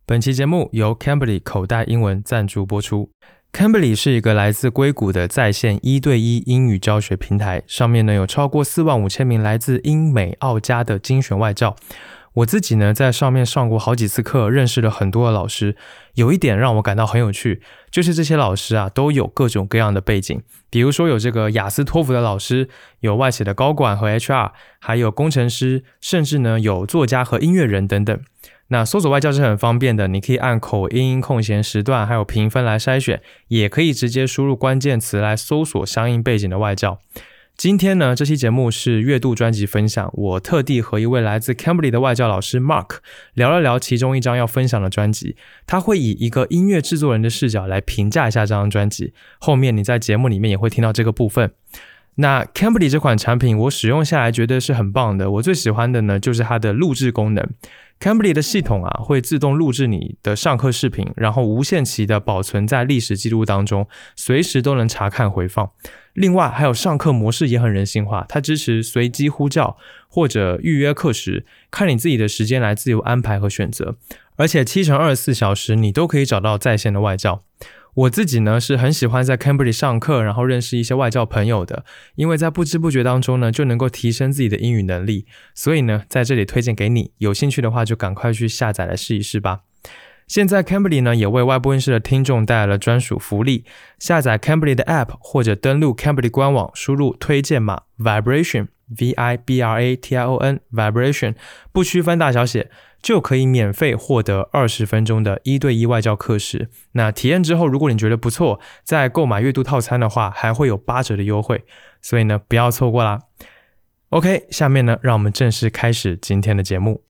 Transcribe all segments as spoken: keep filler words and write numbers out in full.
本期节目由 Cambly 口袋英文赞助播出。Cambly 是一个来自硅谷的在线一对一英语教学平台，上面呢有超过四万五千名来自英美澳加的精选外教。我自己呢在上面上过好几次课，认识了很多的老师。有一点让我感到很有趣，就是这些老师啊都有各种各样的背景，比如说有这个雅思托福的老师，有外企的高管和 H R， 还有工程师，甚至呢有作家和音乐人等等。那搜索外教是很方便的，你可以按口音、空闲时段还有评分来筛选，也可以直接输入关键词来搜索相应背景的外教。今天呢，这期节目是月度专辑分享，我特地和一位来自 Cambly 的外教老师 Mark 聊了聊其中一张要分享的专辑，他会以一个音乐制作人的视角来评价一下这张专辑，后面你在节目里面也会听到这个部分。那 Cambly 这款产品我使用下来觉得是很棒的，我最喜欢的呢就是它的录制功能。Cambly 的系统啊会自动录制你的上课视频，然后无限期的保存在历史记录当中，随时都能查看回放。另外还有上课模式也很人性化，它支持随机呼叫或者预约课时，看你自己的时间来自由安排和选择，而且七乘二十四小时你都可以找到在线的外教。我自己呢是很喜欢在 Cambly 上课，然后认识一些外教朋友的，因为在不知不觉当中呢就能够提升自己的英语能力，所以呢在这里推荐给你，有兴趣的话就赶快去下载来试一试吧。现在 Cambly 呢也为外播音室的听众带来了专属福利，下载 Cambly 的 App 或者登录 Cambly 官网，输入推荐码 Vibration V I B R A T I O N Vibration 不区分大小写，就可以免费获得二十分钟的一对一外教课时。那体验之后如果你觉得不错，在购买月度套餐的话还会有八折的优惠，所以呢不要错过啦。 OK， 下面呢让我们正式开始今天的节目。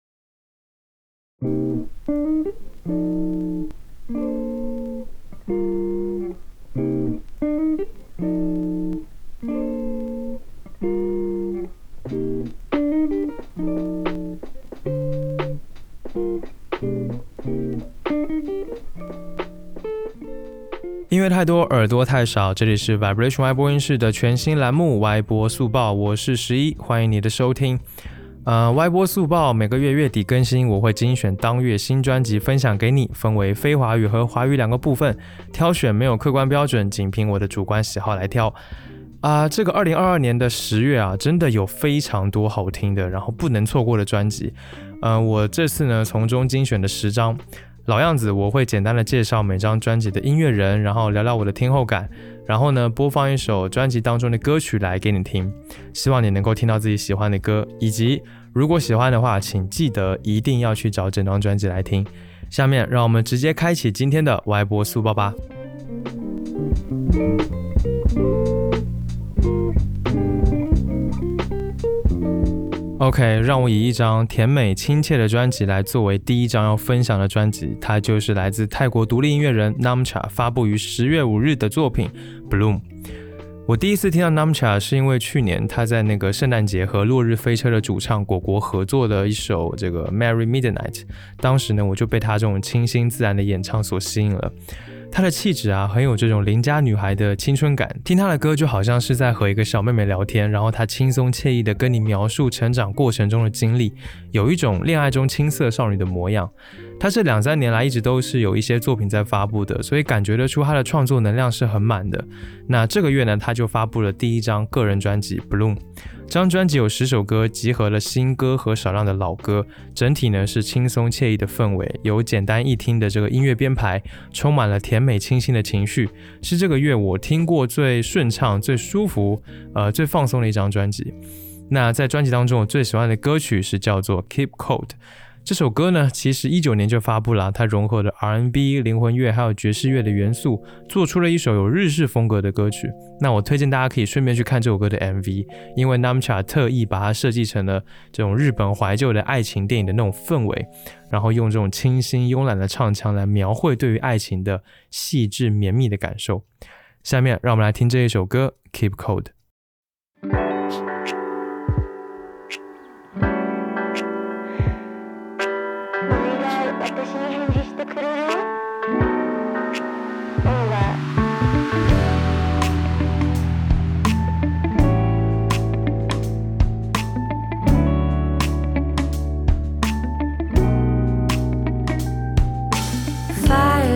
音乐太多，耳朵太少，这里是 Vibration 外播音室的全新栏目歪播速报，我是十一，欢迎你的收听。呃，歪播速报每个月月底更新，我会精选当月新专辑分享给你，分为非华语和华语两个部分，挑选没有客观标准，仅凭我的主观喜好来挑。啊、呃，这个二零二二年的十月啊，真的有非常多好听的，然后不能错过的专辑。呃，我这次呢从中精选的十张。老样子，我会简单的介绍每张专辑的音乐人，然后聊聊我的听后感，然后呢播放一首专辑当中的歌曲来给你听，希望你能够听到自己喜欢的歌，以及如果喜欢的话请记得一定要去找整张专辑来听。下面让我们直接开启今天的歪播速报吧。OK， 让我以一张甜美亲切的专辑来作为第一张要分享的专辑，它就是来自泰国独立音乐人 Namcha 发布于十月五日的作品 Bloom。 我第一次听到 Namcha 是因为去年他在那个圣诞节和落日飞车的主唱果果合作的一首这个 Merry Midnight， 当时呢我就被他这种清新自然的演唱所吸引了。她的气质啊，很有这种邻家女孩的青春感，听她的歌就好像是在和一个小妹妹聊天，然后她轻松惬意的跟你描述成长过程中的经历，有一种恋爱中青涩少女的模样。她这两三年来一直都是有一些作品在发布的，所以感觉得出她的创作能量是很满的。那这个月呢，她就发布了第一张个人专辑 Bloom。这张专辑有十首歌，集合了新歌和少量的老歌，整体呢是轻松惬意的氛围，有简单易听的这个音乐编排，充满了甜美清新的情绪，是这个月我听过最顺畅、最舒服、呃最放松的一张专辑。那在专辑当中，我最喜欢的歌曲是叫做 Keep Cold。这首歌呢，其实一九年就发布了，它融合了 R and B、灵魂乐还有爵士乐的元素，做出了一首有日式风格的歌曲。那我推荐大家可以顺便去看这首歌的 M V， 因为 Namcha 特意把它设计成了这种日本怀旧的爱情电影的那种氛围，然后用这种清新慵懒的唱腔来描绘对于爱情的细致绵密的感受。下面让我们来听这一首歌 Keep Cold。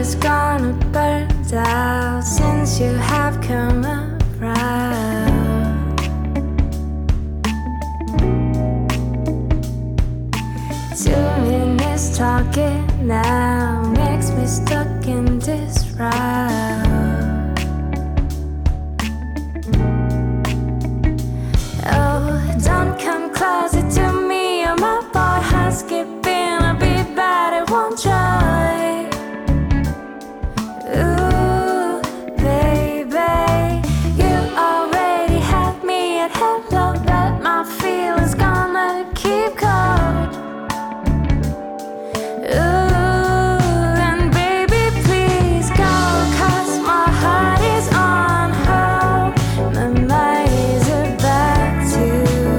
is gonna burn out since you have come around. Two minutes talking now makes me stuck in this round. Oh, don't come closer to me, or my boy has skipping. I'll be bad at one try. Ooh, baby, you already had me at hello, but my feelings gonna keep cold. Ooh, and baby, please go, 'cause my heart is on hold. My mind is about to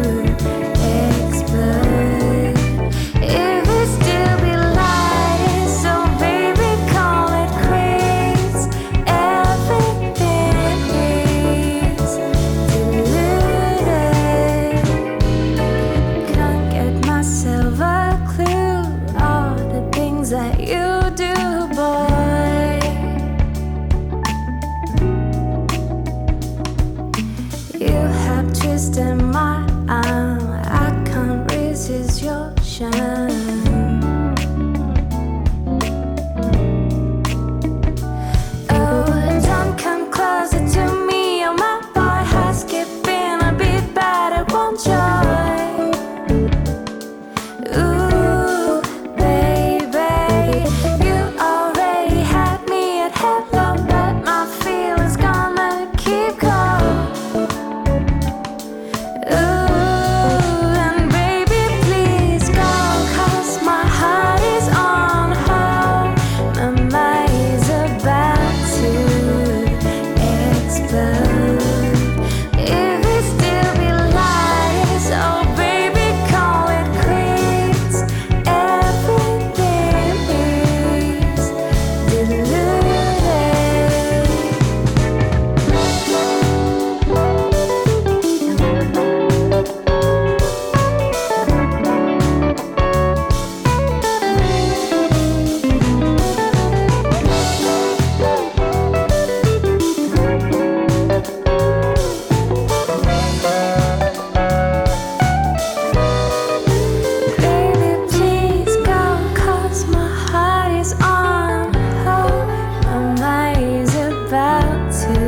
explode. If it still be light, so baby, call it quits. Everything is deluded. Can't get myself a clue. All the things that you do, boy. You have twisted my arm. I can't resist your charm. Oh, don't come closer to me, or my boy has skipping. I'll be bad at one joy. Ooh, baby, you already had me at hello, but my feelings gonna keep cold. Ooh, and baby, please go, 'cause my heart is on hold. My mind is about to explode. If it still be light, so baby, call it quits. Everything is deluded. Baby, please go, 'cause my heart is on hold. My mind is about to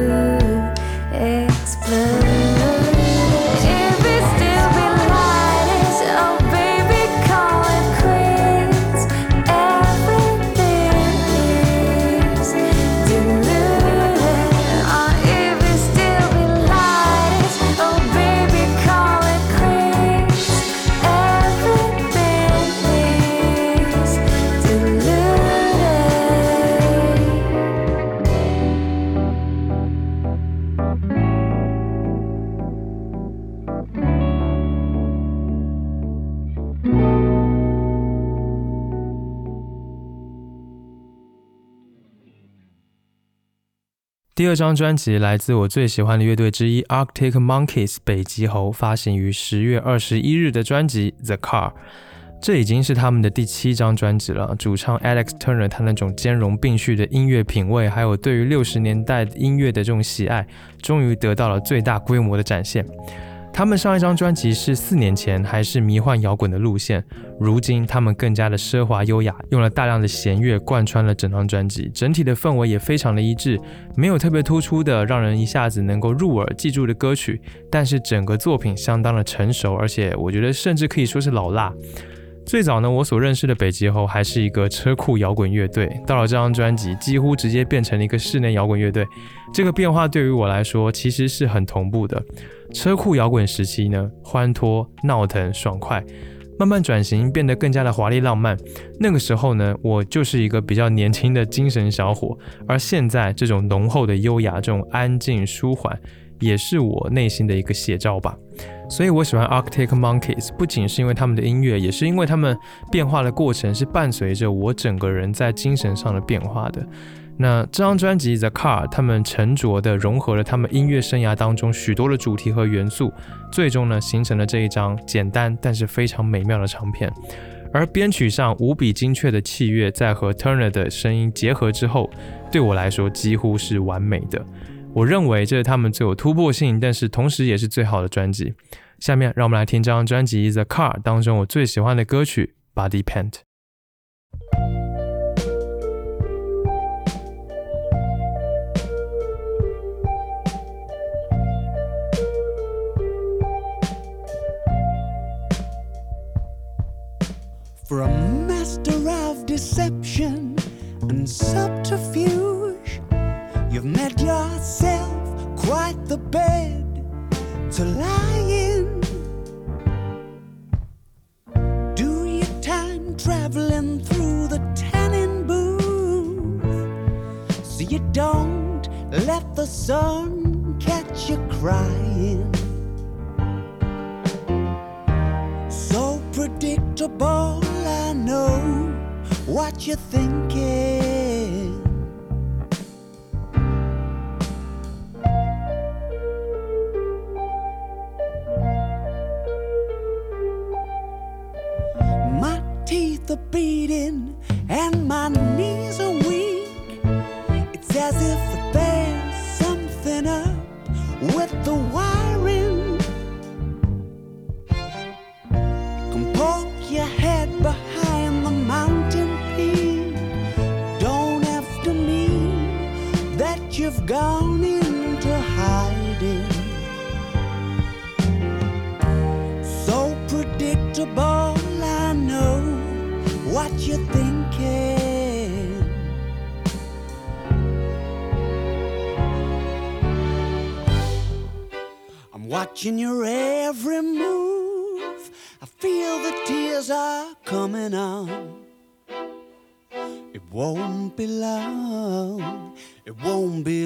explode. If it still be light, oh baby, call it quits. Everything is deluded. Oh, if it still be light, oh baby, call it quits. Everything is deluded. 第二张专辑来自我最喜欢的乐队之一 Arctic Monkeys 北极猴发行于十月二十一日的专辑 The Car， 这已经是他们的第七张专辑了。主唱 Alex Turner 他那种兼容并蓄的音乐品味，还有对于六十年代音乐的这种喜爱，终于得到了最大规模的展现。他们上一张专辑是四年前，还是迷幻摇滚的路线，如今他们更加的奢华优雅，用了大量的弦乐贯穿了整张专辑，整体的氛围也非常的一致，没有特别突出的让人一下子能够入耳记住的歌曲，但是整个作品相当的成熟，而且我觉得甚至可以说是老辣。最早呢，我所认识的北极猴还是一个车库摇滚乐队，到了这张专辑，几乎直接变成了一个室内摇滚乐队。这个变化对于我来说其实是很同步的。车库摇滚时期呢，欢脱、闹腾、爽快，慢慢转型变得更加的华丽浪漫。那个时候呢，我就是一个比较年轻的精神小伙，而现在这种浓厚的优雅，这种安静舒缓，也是我内心的一个写照吧。所以我喜欢 Arctic Monkeys， 不仅是因为他们的音乐，也是因为他们变化的过程是伴随着我整个人在精神上的变化的。那这张专辑 The Car， 他们沉着的融合了他们音乐生涯当中许多的主题和元素，最终呢形成了这一张简单但是非常美妙的唱片。 而编曲上无比精确的器乐在和 Turner 的声音结合之后，对我来说几乎是完美的。我认为这是他们最有突破性，但是同时也是最好的专辑。下面让我们来听这张专辑 The Car 当中我最喜欢的歌曲 Body Paint。For a master of deception and subterfuge, you've made yourself quite the bed to lie in. Do your time traveling through the tanning booth, so you don't let the sun catch you crying. So predictable, I know what you're thinking. My teeth are beating and my knees are weak. It's as if there's something up with the wiring. Poke your head behind the mountain peak. Don't have to mean that you've gone into hiding. So predictable, I know what you're thinking. I'm watching your every move. I feel the tears are coming on. It won't be long, it won't be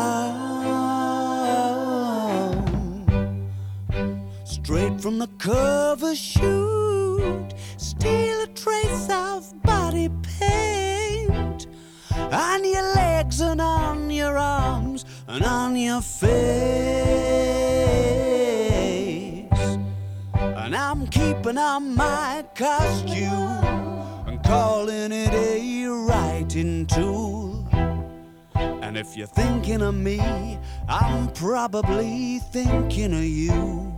long. Straight from the cover shoot, still a trace of body paint on your legs and on your arms and on your face. And I'm keeping on my costume and calling it a writing tool. And if you're thinking of me, I'm probably thinking of you.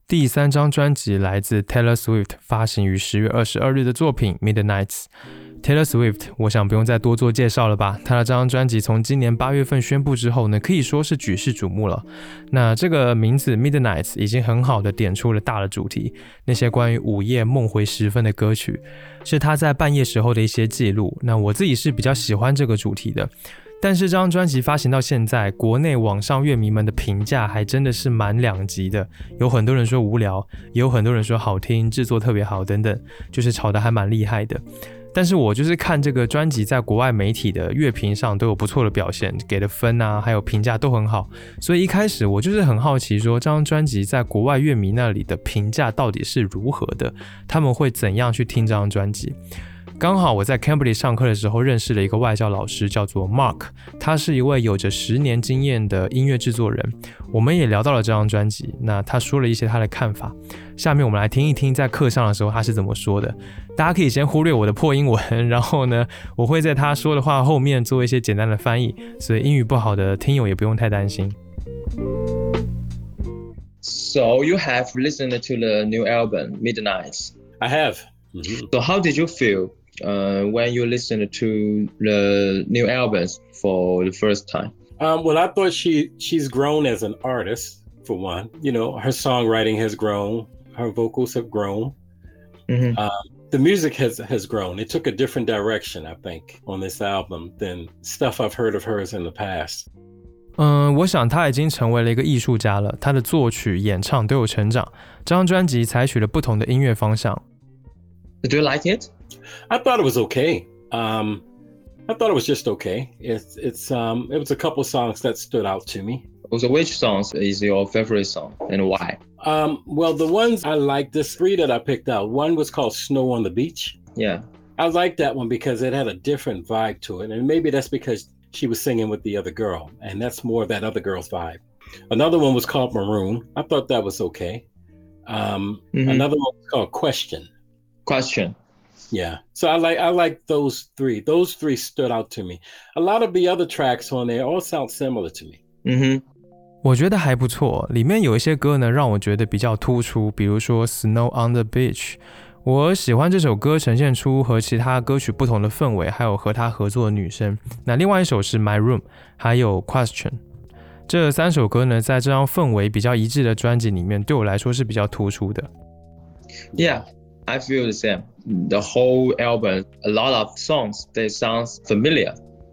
第三张专辑来自 Taylor Swift 发行于十月二十二日的作品 Midnights。Taylor Swift 我想不用再多做介绍了吧，他的这张专辑从今年八月份宣布之后呢，可以说是举世瞩目了。那这个名字 Midnights 已经很好的点出了大的主题，那些关于午夜梦回时分的歌曲，是他在半夜时候的一些记录。那我自己是比较喜欢这个主题的。但是这张专辑发行到现在，国内网上乐迷们的评价还真的是蛮两极的，有很多人说无聊，也有很多人说好听，制作特别好等等，就是吵得还蛮厉害的。但是我就是看这个专辑在国外媒体的乐评上都有不错的表现，给的分啊还有评价都很好，所以一开始我就是很好奇说这张专辑在国外乐迷那里的评价到底是如何的，他们会怎样去听这张专辑。刚好我在 Cambridge 上课的时候认识了一个外教老师，叫做 Mark， 他是一位有着十年经验的音乐制作人，我们也聊到了这张专辑，那他说了一些他的看法，下面我们来听一听在课上的时候他是怎么说的。大家可以先忽略我的破英文，然后呢我会在他说的话后面做一些简单的翻译，所以英语不好的听友也不用太担心。 So you have listened to the new album Midnights. I have. Mm-hmm. So how did you feel uh, when you listened to the new albums for the first time? Um, well, I thought she she's grown as an artist, for one. You know, her songwriting has grown, her vocals have grown. Mm-hmm. Um, the music has has grown. It took a different direction, I think, on this album than stuff I've heard of hers in the past. 嗯，我想他已经成为了一个艺术家了，他的作曲、演唱都有成长。这张专辑采取了不同的音乐方向。 Do you like it? I thought it was okay. Um, I thought it was just okay. It's it's um it was a couple songs that stood out to me. Also, which songs is your favorite song and why? Um, well, the ones I liked, the three that I picked out, one was called Snow on the Beach. Yeah. I liked that one because it had a different vibe to it. And maybe that's because she was singing with the other girl, and that's more of that other girl's vibe. Another one was called Maroon. I thought that was okay. Um, mm-hmm. Another one was called Question. Question. Yeah. So I like I like those three. Those three stood out to me. A lot of the other tracks on there all sound similar to me. Mm-hmm. 我觉得还不错，里面有一些歌呢让我觉得比较突出，比如说 Snow on the Beach。我喜欢这首歌呈现出和其他歌曲不同的氛围，还有和他合作的女生。那另外一首是 My Room， 还有 Question。这三首歌呢，在这张氛围比较一致的专辑里面，对我来说是比较突出的。 Yeah, I feel the same. The whole album, a lot of songs, they sound familiar.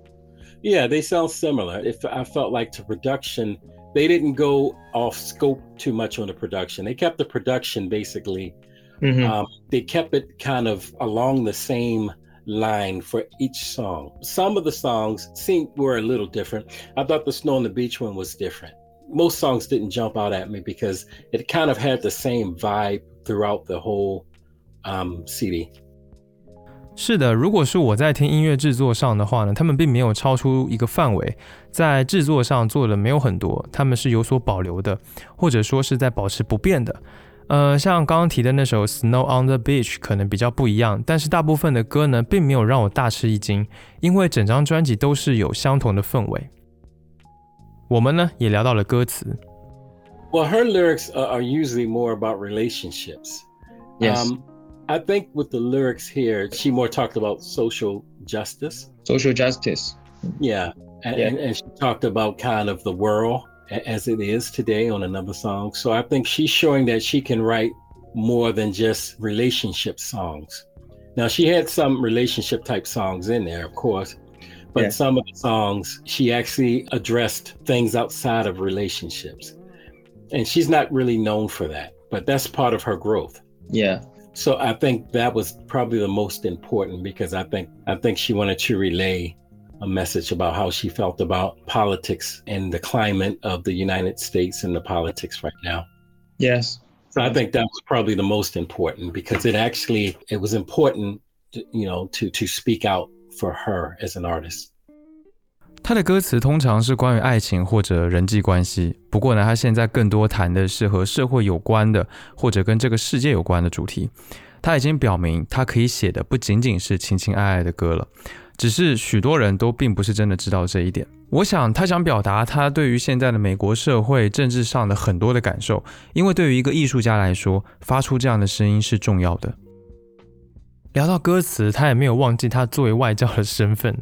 Yeah, they sound similar. If I felt like the production, they didn't go off scope too much on the production. They kept the production basically.Mm-hmm. Um, they kept it kind of along the same line for each song. Some of the songs seemed were a little different. I thought the Snow on the Beach one was different. Most songs didn't jump out at me because it kind of had the same vibe throughout the whole um, C D. 是的，如果是我在听音乐制作上的话呢，他们并没有超出一个范围，在制作上做的没有很多，他们是有所保留的，或者说是在保持不变的。呃，像刚刚提的那首 Snow on the Beach 可能比较不一样，但是大部分的歌呢，并没有让我大吃一惊，因为整张专辑都是有相同的氛围。我们呢，也聊到了歌词。 Well, her lyrics are usually more about relationships. Yes. Um, I think with the lyrics here, she more talked about social justice. Social justice. Yeah. And, yeah. and, and she talked about kind of the world.as it is today on another song. So I think she's showing that she can write more than just relationship songs. Now, she had some relationship type songs in there, of course, but yeah. some of the songs, she actually addressed things outside of relationships. And she's not really known for that, but that's part of her growth. Yeah. So I think that was probably the most important because I think I think she wanted to relay a message about how she felt about politics and the climate of the United States and the politics right now. Yes. So I think that was probably the most important because it actually, it was important, to, you know, to, to speak out for her as an artist. 他的歌词通常是关于爱情或者人际关系，不过呢，他现在更多谈的是和社会有关的，或者跟这个世界有关的主题。他已经表明，他可以写的不仅仅是情情爱爱的歌了。 只是许多人都并不是真的知道这一点。我想他想表达他对于现在的美国社会政治上的很多的感受，因为对于一个艺术家来说，发出这样的声音是重要的。聊到歌词，他也没有忘记他作为外教的身份。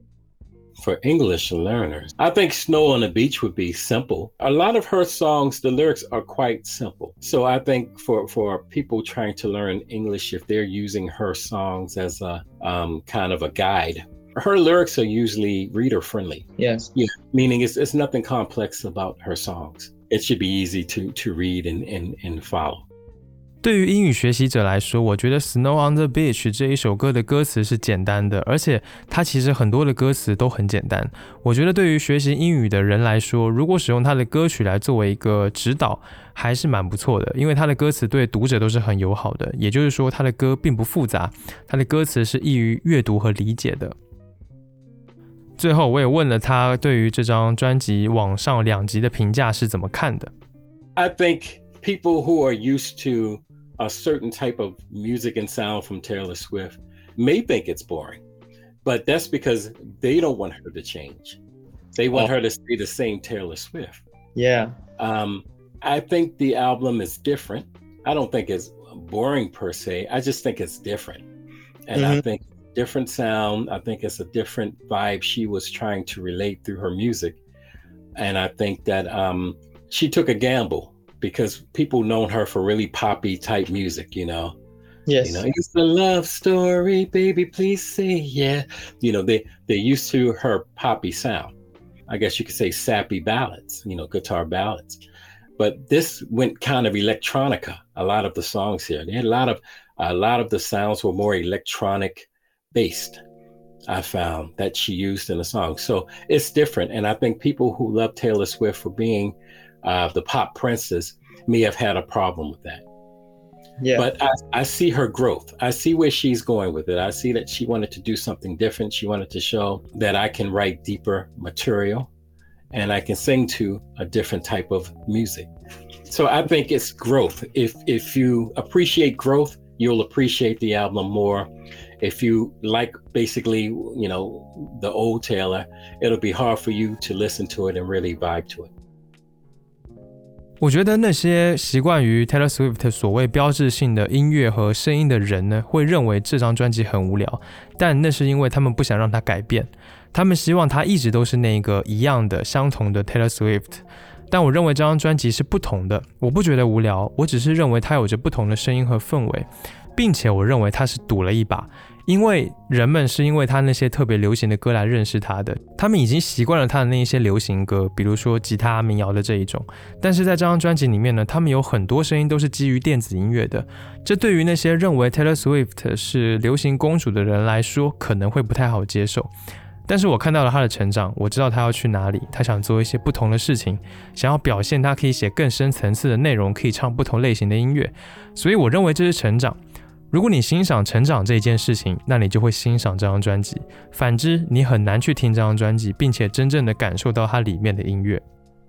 For English learners, I think Snow on the Beach would be simple. A lot of her songs, the lyrics are quite simple. So I think for, for people trying to learn English, if they're using her songs as a um, kind of a guide, her lyrics are usually reader friendly. Yes. Yeah, meaning it's, it's nothing complex about her songs. It should be easy to, to read and, and, and follow. 对于英语学习者来说，我觉得 Snow on the Beach 这一首歌的歌词是简单的，而且它其实很多的歌词都很简单。我觉得对于学习英语的人来说，如果使用它的歌曲来作为一个指导，还是蛮不错的，因为它的歌词对读者都是很友好的，也就是说它的歌并不复杂，它的歌词是易于阅读和理解的。最后我也问了他对于这张专辑往上两集的评价是怎么看的。 I think people who are used to a certain type of music and sound from Taylor Swift may think it's boring, but that's because they don't want her to change. They want oh. her to stay the same Taylor Swift. Yeah. Um, I think the album is different. I don't think it's boring per se. I just think it's different. And mm-hmm. I think different sound. I think it's a different vibe she was trying to relate through her music. And I think that um, she took a gamble, because people known her for really poppy type music, you know. Yes. You know, it's a love story, baby, please say yeah. You know, they, they're used to her poppy sound. I guess you could say sappy ballads, you know, guitar ballads. But this went kind of electronica, a lot of the songs here. They had a lot of, a lot of the sounds were more electronic based, I found, that she used in the song. So it's different. And I think people who love Taylor Swift for being Uh, the pop princess may have had a problem with that. Yeah. But I, I see her growth. I see where she's going with it. I see that she wanted to do something different. She wanted to show that I can write deeper material and I can sing to a different type of music. So I think it's growth. If if you appreciate growth, you'll appreciate the album more. If you like basically, you know, the old Taylor, it'll be hard for you to listen to it and really vibe to it. 我觉得那些习惯于 Taylor Swift 所谓标志性的音乐和声音的人呢，会认为这张专辑很无聊，但那是因为他们不想让它改变，他们希望它一直都是那个一样的相同的 Taylor Swift。但我认为这张专辑是不同的，我不觉得无聊，我只是认为它有着不同的声音和氛围，并且我认为它是赌了一把。因为人们是因为他那些特别流行的歌来认识他的，他们已经习惯了他的那一些流行歌，比如说吉他民谣的这一种，但是在这张专辑里面呢，他们有很多声音都是基于电子音乐的，这对于那些认为 Taylor Swift 是流行公主的人来说可能会不太好接受。但是我看到了他的成长，我知道他要去哪里，他想做一些不同的事情，想要表现他可以写更深层次的内容，可以唱不同类型的音乐，所以我认为这是成长。如果你欣赏成长这一件事情，那你就会欣赏这张专辑，反之你很难去听这张专辑并且真正的感受到它里面的音乐。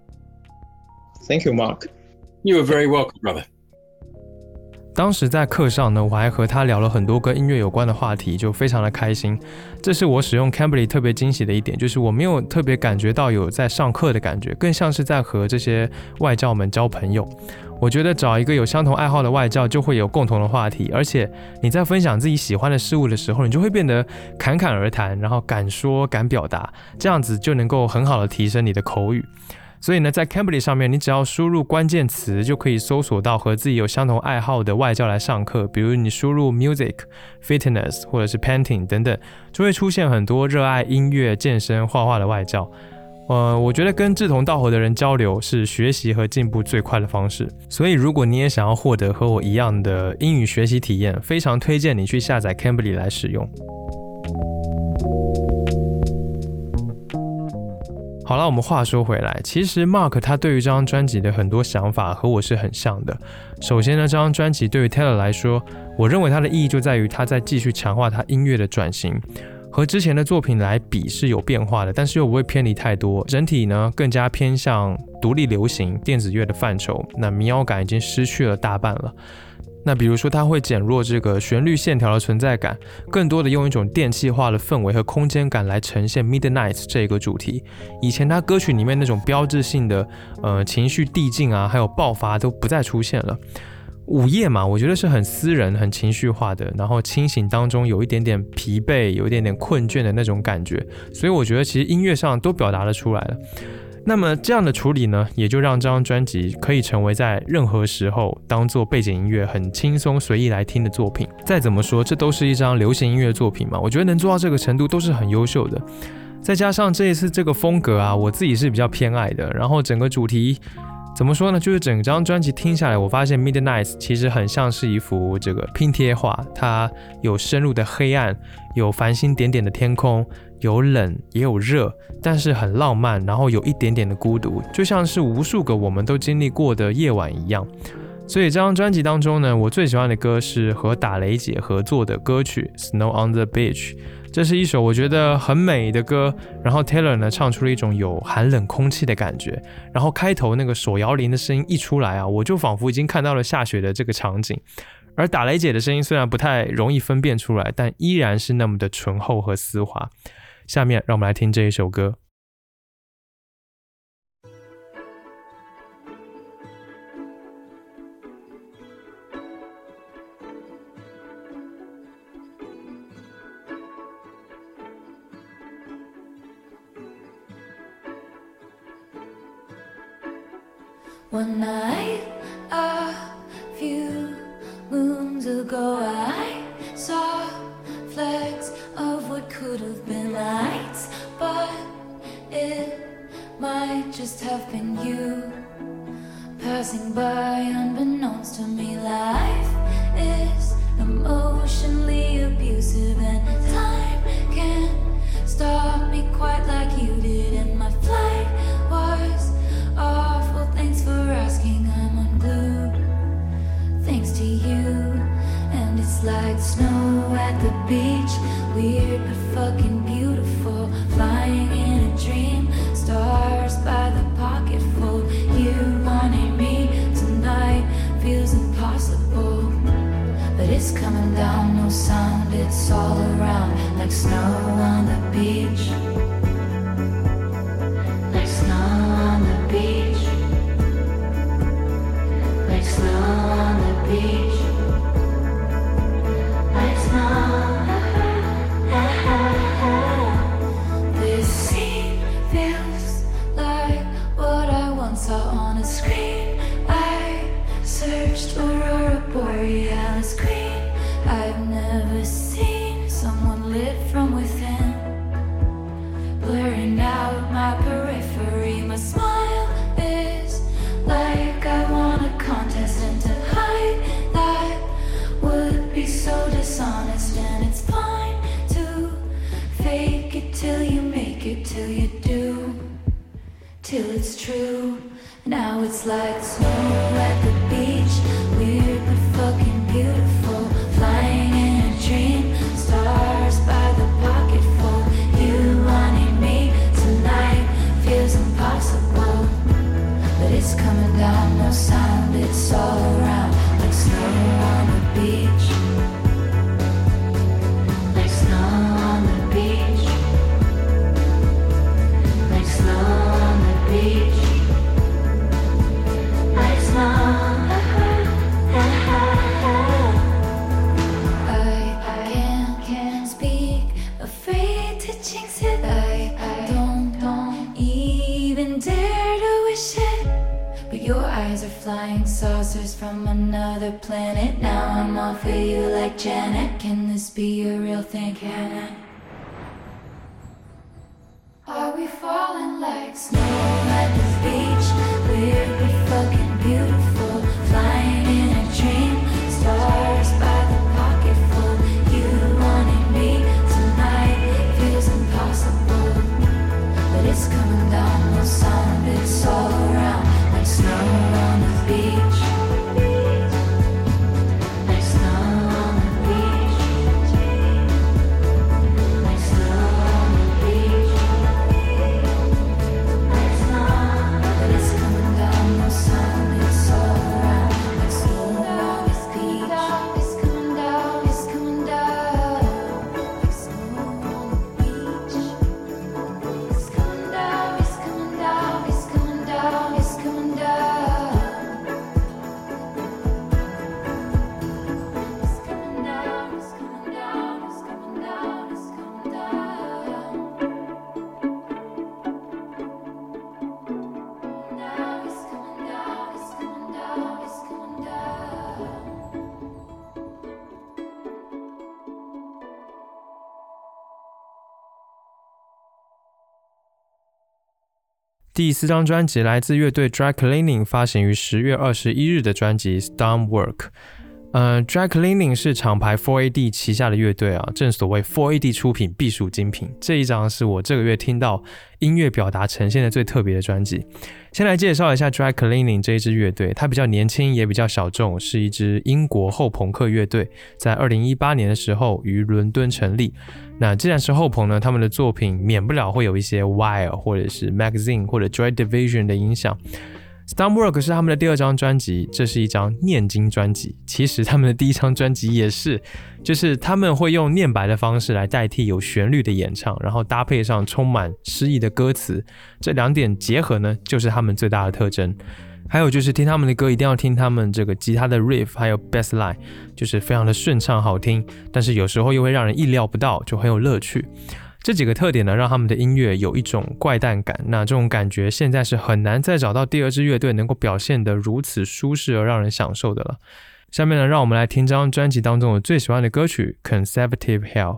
Thank you, Mark. You are very welcome, brother. 当时在课上呢，我还和他聊了很多跟音乐有关的话题，就非常的开心。这是我使用 Cambly 特别惊喜的一点，就是我没有特别感觉到有在上课的感觉，更像是在和这些外教们交朋友。我觉得找一个有相同爱好的外教，就会有共同的话题，而且你在分享自己喜欢的事物的时候，你就会变得侃侃而谈，然后敢说敢表达，这样子就能够很好的提升你的口语。所以呢，在 Cambly 上面，你只要输入关键词，就可以搜索到和自己有相同爱好的外教来上课。比如你输入 music、fitness 或者是 painting 等等，就会出现很多热爱音乐、健身、画画的外教。呃，我觉得跟志同道合的人交流是学习和进步最快的方式。所以，如果你也想要获得和我一样的英语学习体验，非常推荐你去下载 Cambly 来使用。好了，我们话说回来，其实 Mark 他对于这张专辑的很多想法和我是很像的。首先呢，这张专辑对于 Taylor 来说，我认为它的意义就在于他在继续强化他音乐的转型，和之前的作品来比是有变化的，但是又不会偏离太多，整体呢更加偏向独立流行电子乐的范畴，那民谣感已经失去了大半了。 那比如说它会减弱这个旋律线条的存在感，更多的用一种电气化的氛围和空间感来呈现 Midnight 这个主题。以前它歌曲里面那种标志性的呃情绪递进啊，还有爆发都不再出现了。午夜嘛，我觉得是很私人、很情绪化的，然后清醒当中有一点点疲惫、有一点点困倦的那种感觉，所以我觉得其实音乐上都表达得出来了。那么这样的处理呢，也就让这张专辑可以成为在任何时候当做背景音乐很轻松随意来听的作品。再怎么说，这都是一张流行音乐作品嘛，我觉得能做到这个程度都是很优秀的。再加上这一次这个风格啊，我自己是比较偏爱的，然后整个主题怎么说呢，就是整张专辑听下来，我发现 Midnight 其实很像是一幅这个拼贴画，它有深入的黑暗，有繁星点点的天空，有冷也有热，但是很浪漫，然后有一点点的孤独，就像是无数个我们都经历过的夜晚一样。所以这张专辑当中呢，我最喜欢的歌是和打雷姐合作的歌曲 Snow on the Beach， 这是一首我觉得很美的歌，然后 Taylor 呢唱出了一种有寒冷空气的感觉，然后开头那个手摇铃的声音一出来啊，我就仿佛已经看到了下雪的这个场景。而打雷姐的声音虽然不太容易分辨出来，但依然是那么的醇厚和丝滑。下面让我们来听这一首歌。 One night, a few moons ago, I saw flecks of what could have been lights, but it might just have been you passing by unbeknownst to me. Life is emotionally abusive, and time can't stop me quite like you did. And my flight was awful, thanks for asking. I'm unglued thanks to you. And it's like snow at the beach, weird but fucking beautiful, flying in a dream, stars by the pocketful. You wanting me tonight feels impossible, but it's coming down, no sound, it's all around, like snow on the beach, like snow on the beach, like snow on the beach, like snow. This scene feels like what I once saw on a screen. I searched Aurora Borealis queen. I've never seen someone lit from within, blurring out my periphery. My smile is like I won a contest, and to hide that would be so dishonest. And it's fine to fake it till you make it, till you do, till it's true. Now it's like snow at the beach, weird but fucking beautiful, flying in a dream, stars by the pocketful. You wanting me tonight feels impossible, but it's coming down, no sound, it's all around, like snow on the beach, like snow on the beach, like snow on the beach, like snow. I can't, can't speak, afraid to jinx it. I, I don't, don't even dare to wish it. But your eyes are flying saucers from another planet. Now I'm all for you like Janet. Can this be a real thing? Can it? Are we falling like snow at the beach? Weird but fucking beautiful, flying in a dream, stars by the pocketful. You wanting me tonight feels impossible, but it's coming down, no sound, it's all around, like snow on the beach, like snow on the beach, 第四张专辑来自乐队 Dry Cleaning 发行于十月二十一日的专辑 Stonework。呃 Dry Cleaning 是厂牌 四 A D 旗下的乐队啊，正所谓 四 A D 出品必属精品。这一张是我这个月听到音乐表达呈现的最特别的专辑。先来介绍一下 Dry Cleaning 这一支乐队，它比较年轻也比较小众，是一支英国后朋克乐队，在二零一八年的时候于伦敦成立。那既然是后朋呢，他们的作品免不了会有一些 Wire 或者是 Magazine 或者 Joy Division 的影响。Stonework 是他们的第二张专辑，这是一张念经专辑。其实他们的第一张专辑也是，就是他们会用念白的方式来代替有旋律的演唱，然后搭配上充满诗意的歌词，这两点结合呢，就是他们最大的特征。还有就是听他们的歌一定要听他们这个吉他的 riff 还有 bass line， 就是非常的顺畅好听，但是有时候又会让人意料不到，就很有乐趣。这几个特点呢，让他们的音乐有一种怪诞感，那这种感觉现在是很难再找到第二支乐队能够表现得如此舒适而让人享受的了。下面呢，让我们来听这张专辑当中我最喜欢的歌曲 Conservative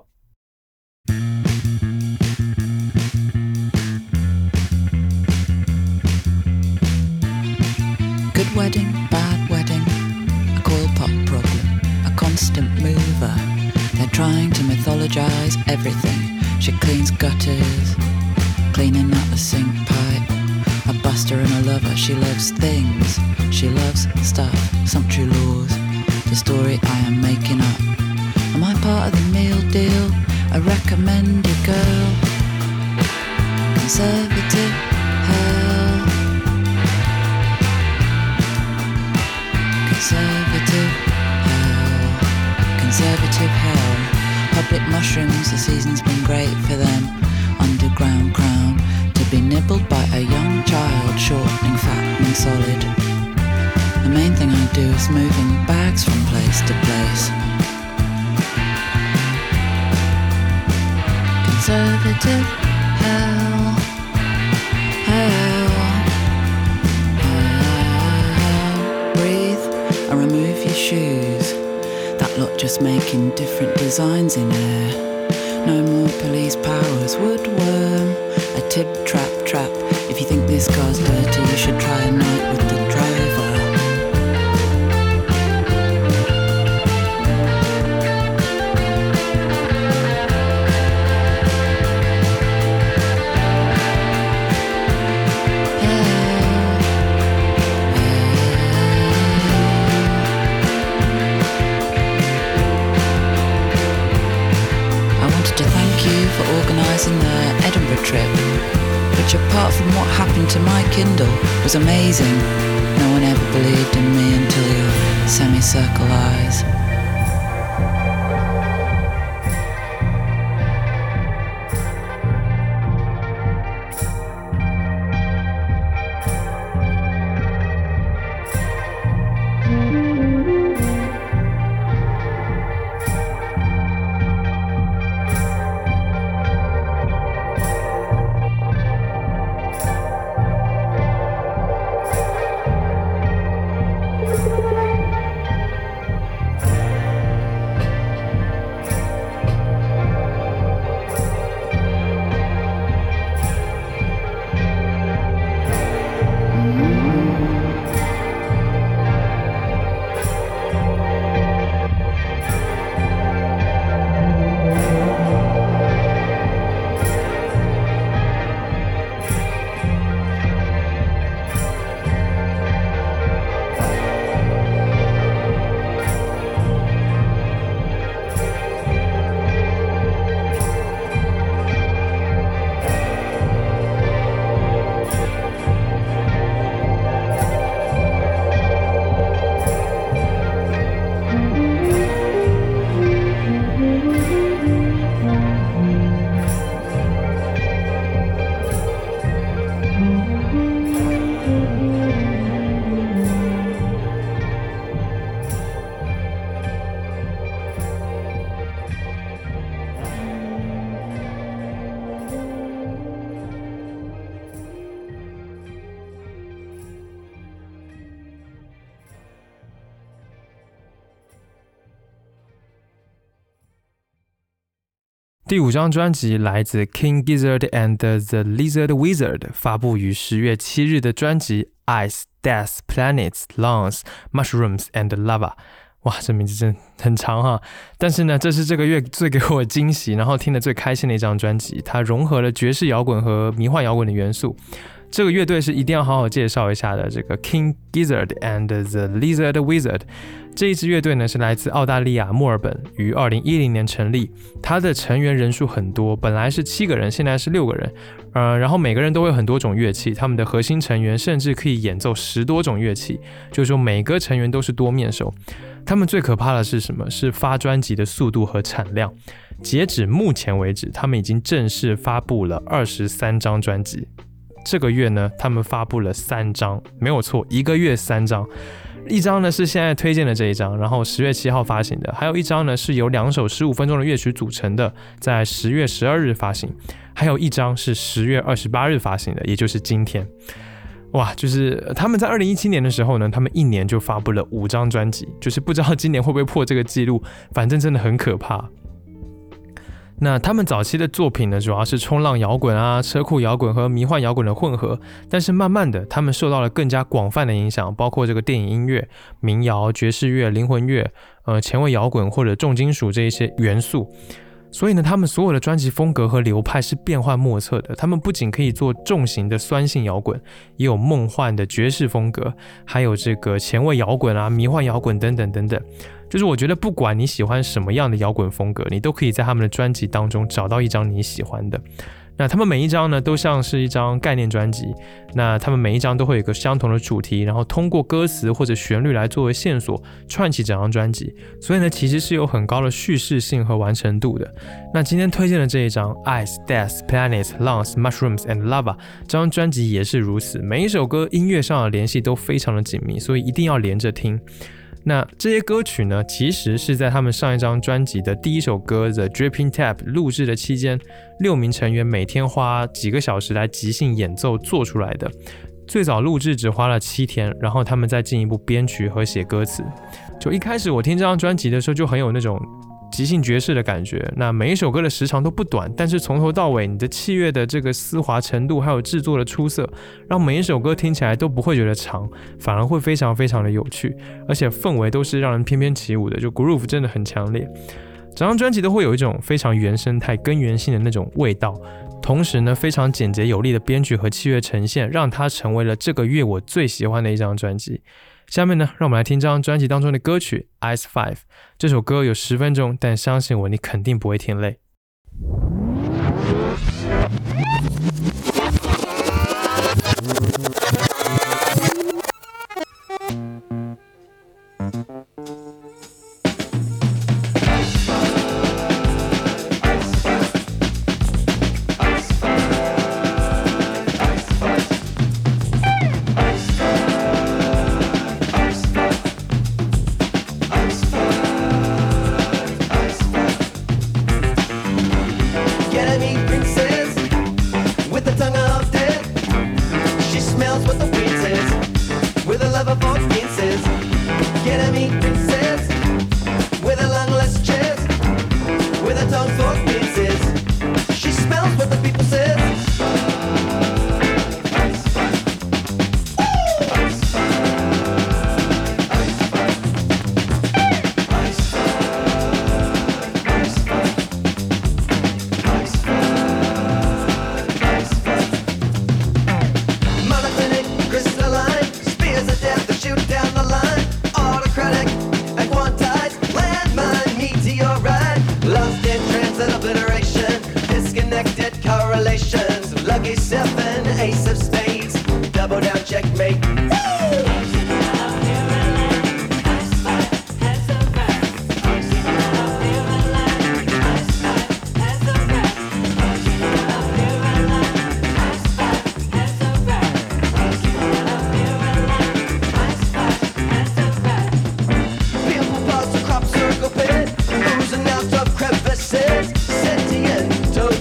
Hell。Good wedding, bad wedding, a coil pot problem, a constant mover. They're trying to mythologize everything.She cleans gutters, cleaning out the sink pipe. A buster and a lover, she loves things. She loves stuff, sumptuary laws. The story I am making up. Am I part of the meal deal? A recommended girl. Conservative hell. Conservative hell. Conservative hell.Public mushrooms, the season's been great for them. Underground crown, to be nibbled by a young child, shortening, fattening, solid. The main thing I do is moving bags from place to place. Conservative hell, hell, hell. Breathe and remove your shoes.That lot just making different designs in air. No more police powers, woodworm, a tib trap trap. If you think this car's dirty, you should try a night with the driver.In the Edinburgh trip, which apart from what happened to my Kindle was amazing. No one ever believed in me until your semicircle eyes. 第五张专辑来自 King Gizzard and the Lizard Wizard 发布于十月七日的专辑 Ice, Death, Planets, Lungs, Mushrooms and Lava。 哇，这名字真的很长哈，但是呢，这是这个月最给我惊喜，然后听得最开心的一张专辑，它融合了爵士摇滚和迷幻摇滚的元素。这个乐队是一定要好好介绍一下的，这个 King Gizzard and the Lizard Wizard。 这一支乐队呢是来自澳大利亚墨尔本，于二零一零年成立。它的成员人数很多，本来是七个人，现在是六个人。呃，然后每个人都会有很多种乐器，他们的核心成员甚至可以演奏十多种乐器，就是说每个成员都是多面手。他们最可怕的是什么？是发专辑的速度和产量。截止目前为止，他们已经正式发布了二十三张专辑。这个月呢，他们发布了三张，没有错，一个月三张。一张呢是现在推荐的这一张，然后十月七号发行的，还有一张呢是由两首十五分钟的乐曲组成的，在十月十二日发行，还有一张是十月二十八日发行的，也就是今天。哇，就是他们在二零一七年的时候呢，他们一年就发布了五张专辑，就是不知道今年会不会破这个记录，反正真的很可怕。那他们早期的作品呢，主要是冲浪摇滚啊、车库摇滚和迷幻摇滚的混合，但是慢慢的，他们受到了更加广泛的影响，包括这个电影音乐、民谣、爵士乐、灵魂乐、呃前卫摇滚或者重金属这一些元素。所以呢，他们所有的专辑风格和流派是变幻莫测的。他们不仅可以做重型的酸性摇滚，也有梦幻的爵士风格，还有这个前卫摇滚啊、迷幻摇滚等等等等。就是我觉得不管你喜欢什么样的摇滚风格，你都可以在他们的专辑当中找到一张你喜欢的。那他们每一张呢，都像是一张概念专辑，那他们每一张都会有一个相同的主题，然后通过歌词或者旋律来作为线索，串起整张专辑。所以呢，其实是有很高的叙事性和完成度的。那今天推荐的这一张 Ice, Death, Planets, Lungs, Mushrooms and Lava 这张专辑也是如此，每一首歌音乐上的联系都非常的紧密，所以一定要连着听。那这些歌曲呢，其实是在他们上一张专辑的第一首歌 The Dripping Tap 录制的期间，六名成员每天花几个小时来即兴演奏做出来的。最早录制只花了七天，然后他们再进一步编曲和写歌词。就一开始我听这张专辑的时候，就很有那种即兴爵士的感觉。那每一首歌的时长都不短，但是从头到尾你的器乐的这个丝滑程度还有制作的出色，让每一首歌听起来都不会觉得长，反而会非常非常的有趣，而且氛围都是让人翩翩起舞的，就 groove 真的很强烈。整张专辑都会有一种非常原生态根源性的那种味道，同时呢非常简洁有力的编曲和器乐呈现，让它成为了这个月我最喜欢的一张专辑。下面呢，让我们来听这张专辑当中的歌曲 Ice Five。 这首歌有十分钟，但相信我，你肯定不会听累。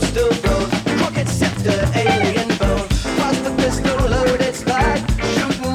Alien bone, cross the pistol loaded spike, shooting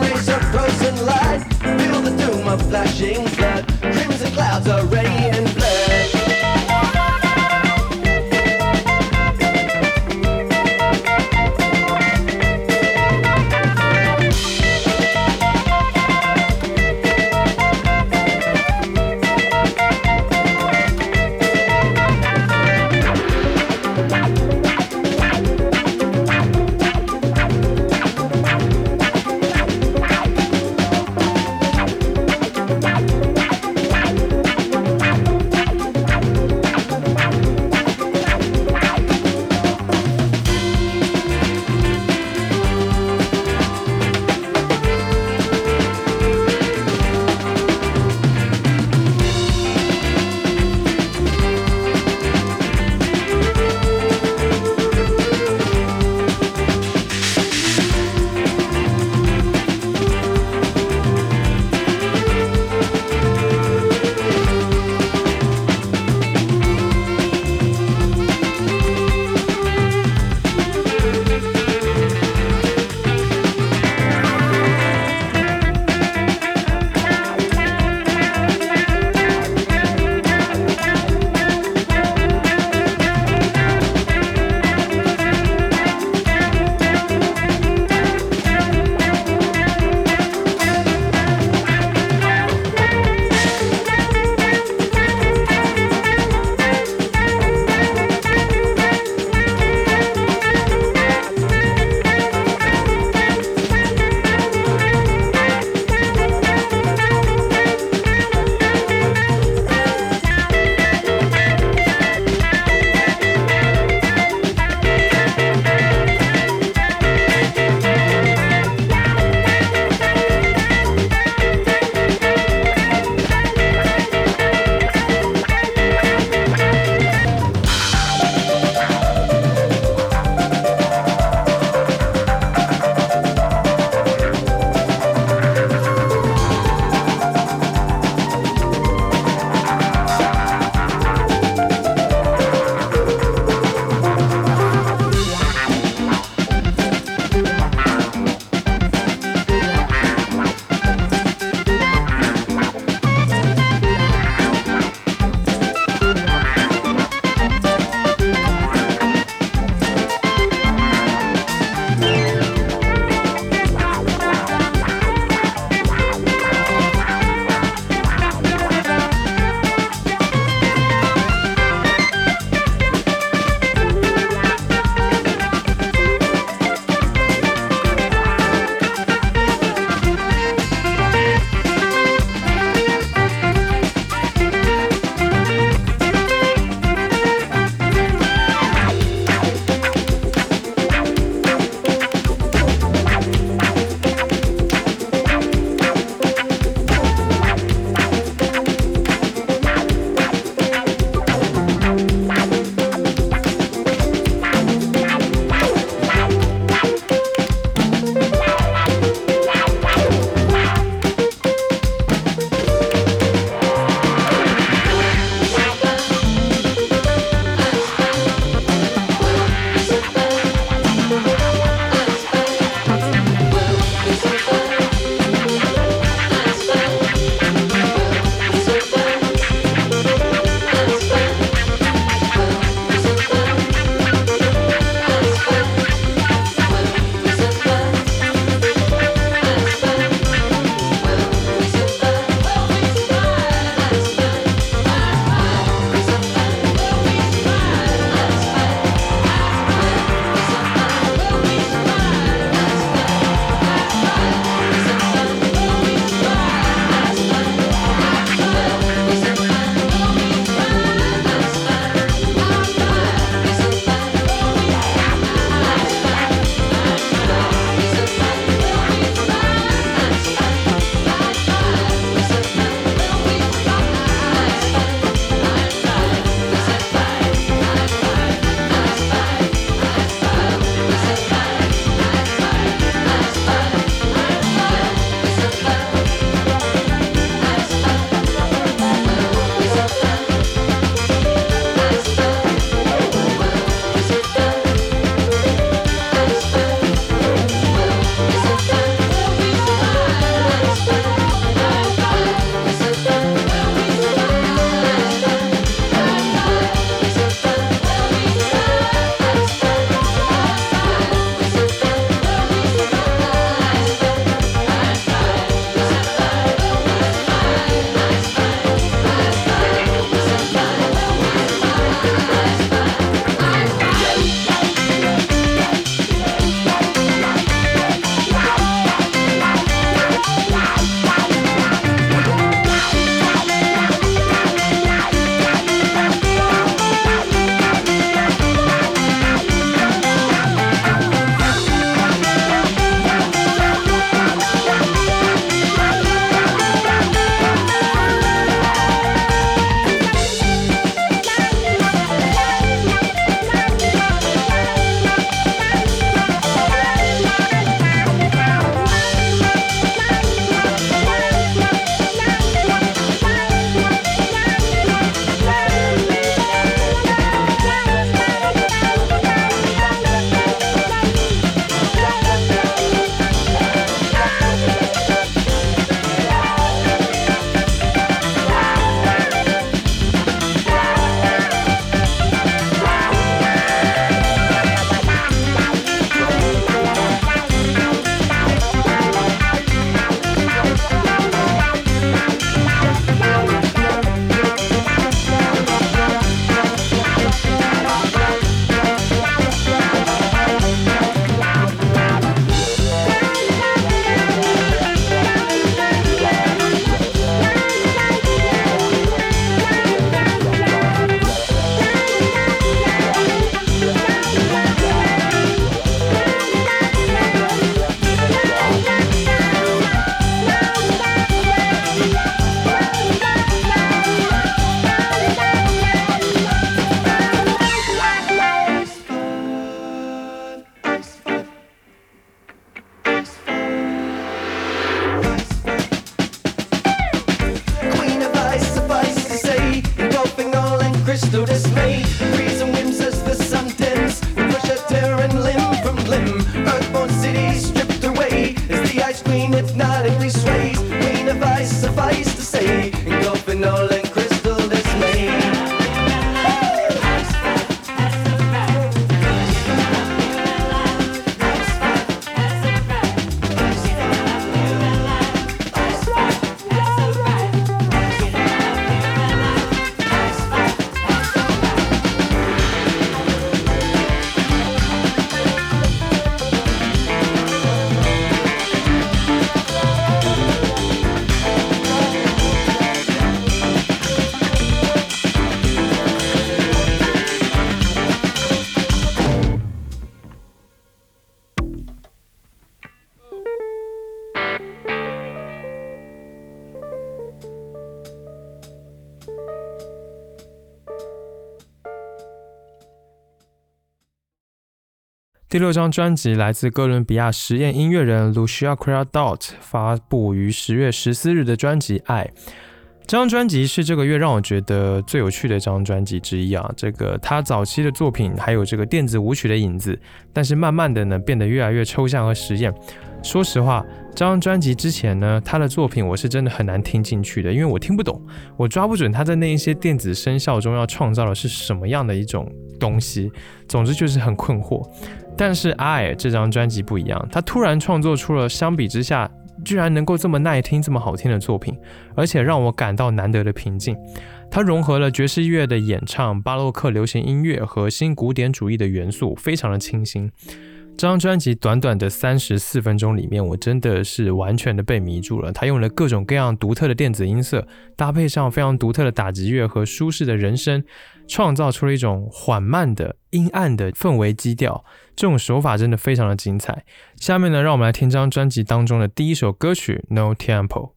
第六张专辑来自哥伦比亚实验音乐人 Lucia Criadot 发布于十月十四日的专辑《爱》。这张专辑是这个月让我觉得最有趣的一张专辑之一啊！这个他早期的作品还有这个电子舞曲的影子，但是慢慢的呢变得越来越抽象和实验。说实话，这张专辑之前呢，他的作品我是真的很难听进去的，因为我听不懂，我抓不准他在那一些电子声效中要创造的是什么样的一种东西。总之就是很困惑。但是《爱》这张专辑不一样，他突然创作出了相比之下居然能够这么耐听这么好听的作品，而且让我感到难得的平静。它融合了爵士乐的演唱、巴洛克流行音乐和新古典主义的元素，非常的清新。这张专辑短短的三十四分钟里面，我真的是完全的被迷住了。它用了各种各样独特的电子音色，搭配上非常独特的打击乐和舒适的人声，创造出了一种缓慢的阴暗的氛围基调。这种手法真的非常的精彩。下面呢，让我们来听这张专辑当中的第一首歌曲 No Tempo。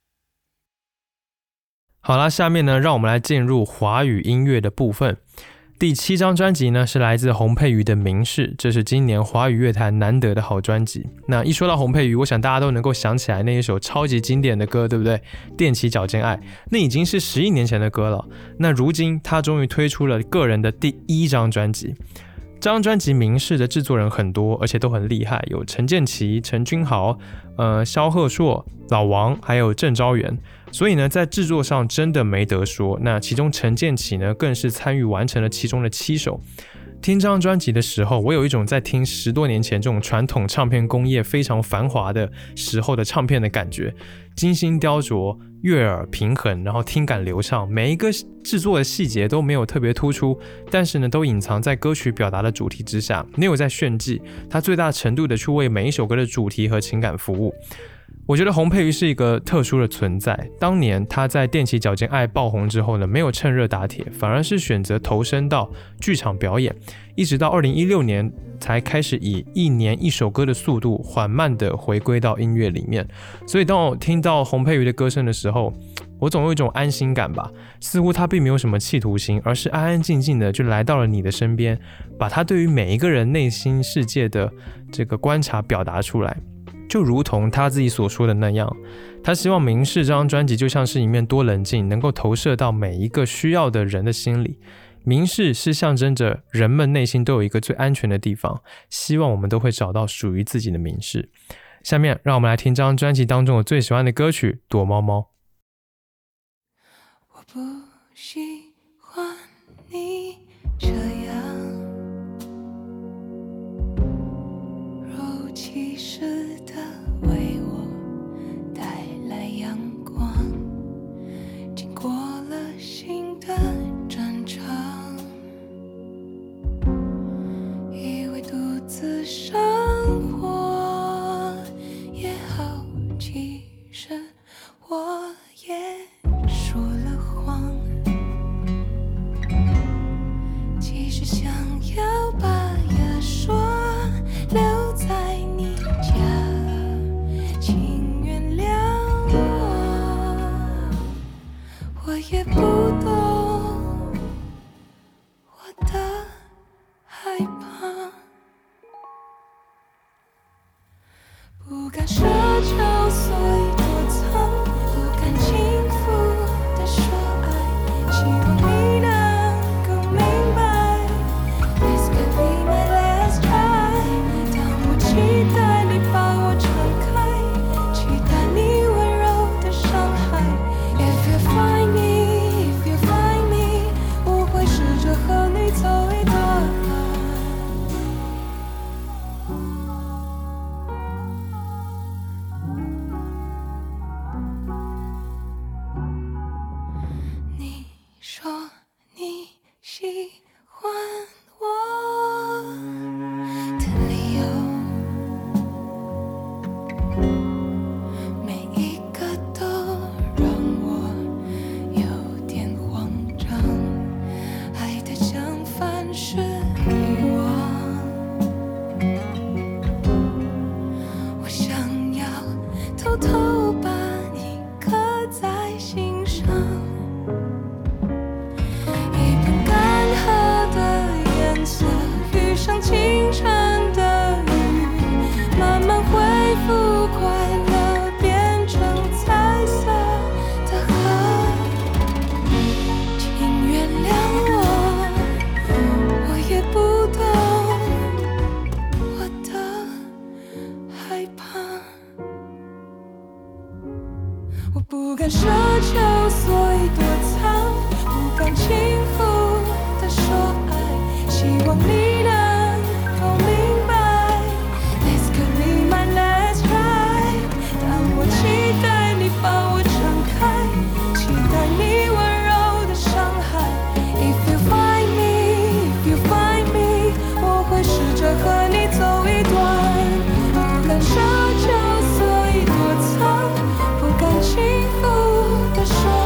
好啦，下面呢，让我们来进入华语音乐的部分。 第七张专辑呢是来自洪佩瑜的《明示》，这是今年华语乐坛难得的好专辑。那一说到洪佩瑜，我想大家都能够想起来那一首超级经典的歌，对不对？踮起脚尖爱，那已经是十一年前的歌了。那如今他终于推出了个人的第一张专辑。这张专辑《明示》的制作人很多，而且都很厉害，有陈建骐、陈君豪、呃萧贺硕、老王，还有郑昭元。所以呢，在制作上真的没得说。那其中陈建骐呢，更是参与完成了其中的七首。听这张专辑的时候，我有一种在听十多年前这种传统唱片工业非常繁华的时候的唱片的感觉，精心雕琢，悦耳平衡，然后听感流畅，每一个制作的细节都没有特别突出，但是呢，都隐藏在歌曲表达的主题之下，没有在炫技，它最大程度的去为每一首歌的主题和情感服务。我觉得洪佩瑜是一个特殊的存在。当年他在踮起脚尖爱爆红之后呢，没有趁热打铁，反而是选择投身到剧场表演，一直到二零一六年才开始以一年一首歌的速度缓慢的回归到音乐里面。所以当我听到洪佩瑜的歌声的时候，我总有一种安心感吧，似乎他并没有什么企图心，而是安安静静的就来到了你的身边，把他对于每一个人内心世界的这个观察表达出来。就如同他自己所说的那样，他希望《明示》这张专辑就像是一面多棱镜，能够投射到每一个需要的人的心里。明示是象征着人们内心都有一个最安全的地方，希望我们都会找到属于自己的明示。下面让我们来听这张专辑当中我最喜欢的歌曲《躲猫猫》。 我不喜欢你这样若其实的为我带来阳光，经过了新的战场，以为独自生活也好，其实我也说了谎，其实想要把牙刷留在你家，请原谅我，我也不懂我的害怕，不敢奢求，所以躲藏，不敢轻浮地说爱，希望你能够明白 This could be my last try， 当我期待你把我撑开，期待你温柔的伤害。 If you find me, if you find me， 我会试着和你走一段，你说你喜欢我的理由，每一个都让我有点慌张，爱的相反是遗忘，我想要偷偷把你刻在心上，一盆干涸的颜色遇上清晨的雨，慢慢恢复快乐，变成彩色的河，请原谅我，我也不懂我的害怕，我不敢奢求，所以躲藏，不敢轻浮地说爱，希望你能够明白 This could be my last try， 当我期待你把我撑开，期待你温柔的伤害。 If you find me, if you find me， 我会试着和你走一段，不敢奢求，所以躲藏，不敢轻浮地说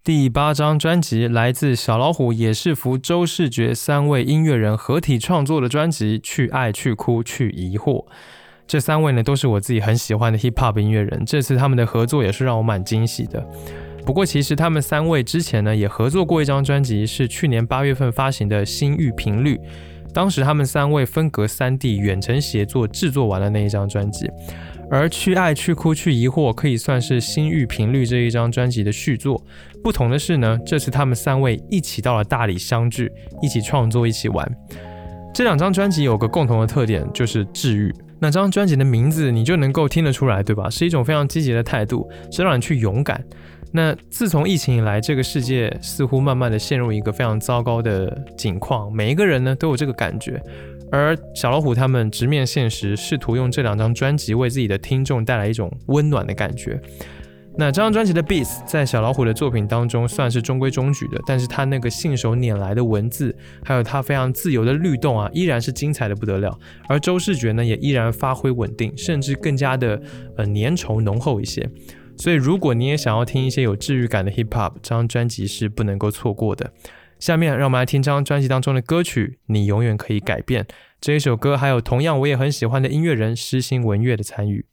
第八张专辑来自小老虎、野士福、周世觉三位音乐人合体创作的专辑《去爱去哭去疑惑》。这三位呢都是我自己很喜欢的 hip hop 音乐人，这次他们的合作也是让我蛮惊喜的。不过其实他们三位之前呢也合作过一张专辑，是去年八月份发行的《心域频率》，当时他们三位分隔三地远程协作制作完了那一张专辑。而去爱去哭去疑惑可以算是心域频率这一张专辑的续作，不同的是呢，这次他们三位一起到了大理相聚，一起创作，一起玩。这两张专辑有个共同的特点，就是治愈。那张专辑的名字你就能够听得出来，对吧？是一种非常积极的态度，是让你去勇敢。那自从疫情以来，这个世界似乎慢慢的陷入一个非常糟糕的境况，每一个人呢都有这个感觉。而小老虎他们直面现实，试图用这两张专辑为自己的听众带来一种温暖的感觉。那这张专辑的 beats 在小老虎的作品当中算是中规中矩的，但是他那个信手拈来的文字，还有他非常自由的律动啊，依然是精彩的不得了。而周世觉呢，也依然发挥稳定，甚至更加的呃粘稠浓厚一些。所以如果你也想要听一些有治愈感的 hip hop， 这张专辑是不能够错过的。下面让我们来听这张专辑当中的歌曲《你永远可以改变》。这一首歌还有同样我也很喜欢的音乐人诗心文乐的参与。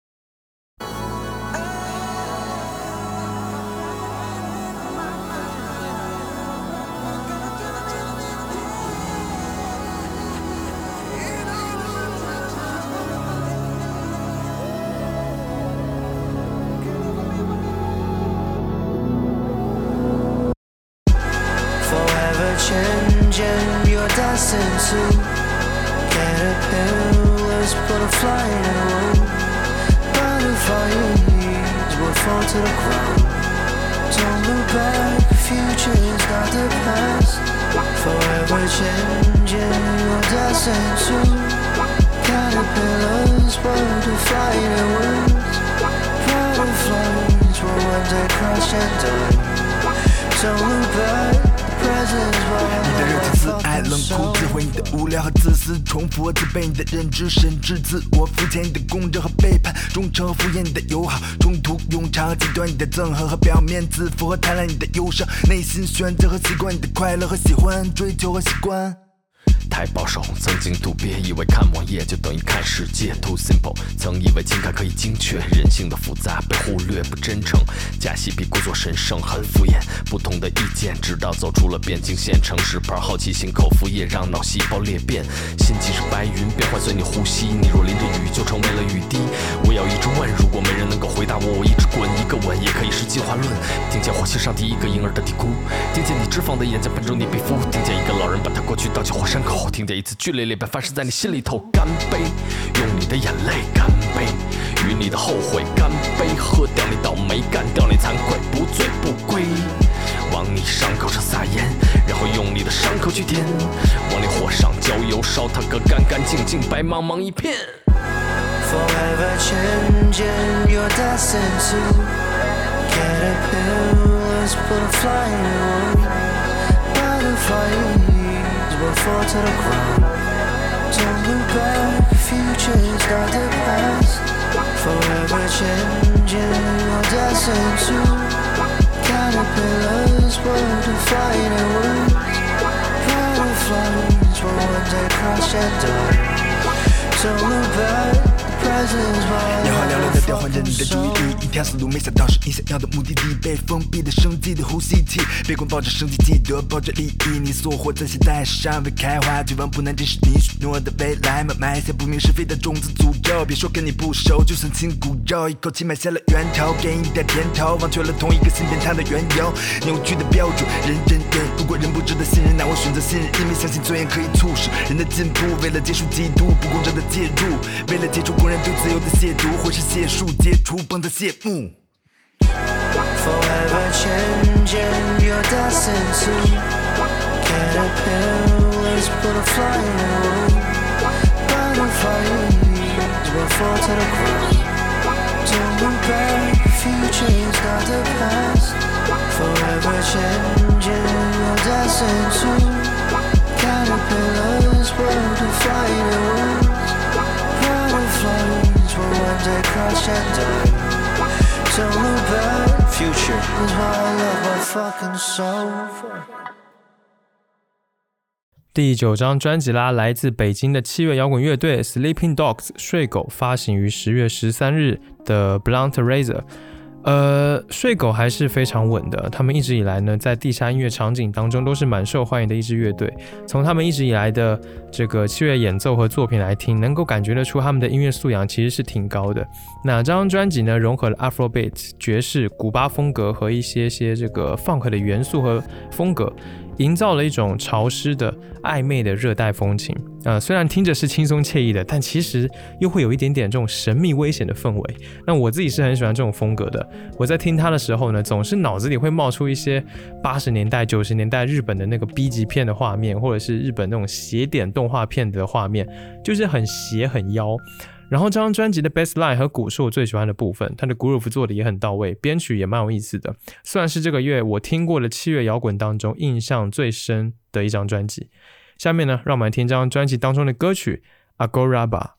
Changing your destined to caterpillars put a fly in a room. Butterflies will fall to the ground. Don't look back, future's not the past. Forever changing your destined to caterpillars put a fly in a room. Butterflies will one day crash and die. Don't look back. 你的热情自爱冷酷智慧，你的无聊和自私重复和自卑，你的认知甚至自我肤浅，你的公正和背叛，忠诚和敷衍，你的友好冲突庸常和极端，你的憎恨和表面自负和贪婪，你的忧伤内心选择和习惯，你的快乐和喜欢追求和习惯。 太保守，曾经度别以为看网页就等于看世界 Too simple， 曾以为情感可以精确，人性的复杂被忽略不真诚，假戏比故作神圣很敷衍，不同的意见直到走出了边境线，城市牌好奇心口服液让脑细胞裂变，心情是白云变幻随你呼吸，你若淋着雨就成为了雨滴，我要一直问，如果没人能够回答我，我一直滚，一个吻也可以是进化论，听见火星上第一个婴儿的嘀咕，听见你脂肪的眼睛喷出你皮肤，听见一个老人把他过去倒进火山口，听见一次剧烈裂变发生在你心里头，干杯，用你的眼泪干杯，与你的后悔干杯，喝掉你倒霉，干掉你惭愧，不醉不归，往你伤口上撒盐，然后用你的伤口去舔，往你火上浇油，烧它个干干净净，白茫茫一片。 Forever changing your destined to caterpillars put a fly in a room. Butterflies will fall to the ground. Don't look back, future's not the past. Forever changing your destined to caterpillars put a fly in a room. Butterflies will one day crash and die. Don't look back. 眼花缭乱的调换着你的注意力，一条思路没想到是你想要的目的地，被封闭的生机的呼吸器，别光抱着生机记得抱着利益，你所活在现在是尚未开花，绝望不难，这是你许诺的未来吗？埋下不明是非的种子诅咒，别说跟你不熟，就算亲骨肉，一口气埋下了源头，给你点甜头，忘却了同一个信念它的缘由，扭曲的标准，人人人，如果人不值得信任，那我选择信任，因为相信尊严可以促使人的进步，为了结束嫉妒不公正的介入，为了解除公然对自由的亵渎，或是谢树解除帮的谢幕。 Forever changing your destined to caterpillars put a fly in a room. Butterflies will fall to the ground. Don't look back, future's not the past. Forever changing your destined to caterpillars put a fly in a room. Butterflies will one day crash and die. Don't look back, future is why I love my fucking soul. 第九张专辑啦，来自北京的七月摇滚乐队 Sleeping Dogs 睡狗发行于十月十三日的 Blunt Razor。呃，睡狗还是非常稳的，他们一直以来呢，在地下音乐场景当中都是蛮受欢迎的一支乐队。从他们一直以来的这个七月演奏和作品来听，能够感觉得出他们的音乐素养其实是挺高的。那这张专辑呢，融合了 Afrobeat、爵士、古巴风格和一些些这个 Funk 的元素和风格，营造了一种潮湿的、暧昧的热带风情。呃，虽然听着是轻松惬意的，但其实又会有一点点这种神秘危险的氛围。那我自己是很喜欢这种风格的。我在听它的时候呢，总是脑子里会冒出一些八十年代、九十年代日本的那个 B 级片的画面，或者是日本那种邪典动画片的画面，就是很邪很妖。然后这张专辑的 bassline 和鼓是我最喜欢的部分，它的 groove 做的也很到位，编曲也蛮有意思的，算是这个月我听过的七月摇滚当中印象最深的一张专辑。下面呢，让我们来听这张专辑当中的歌曲 Agora吧。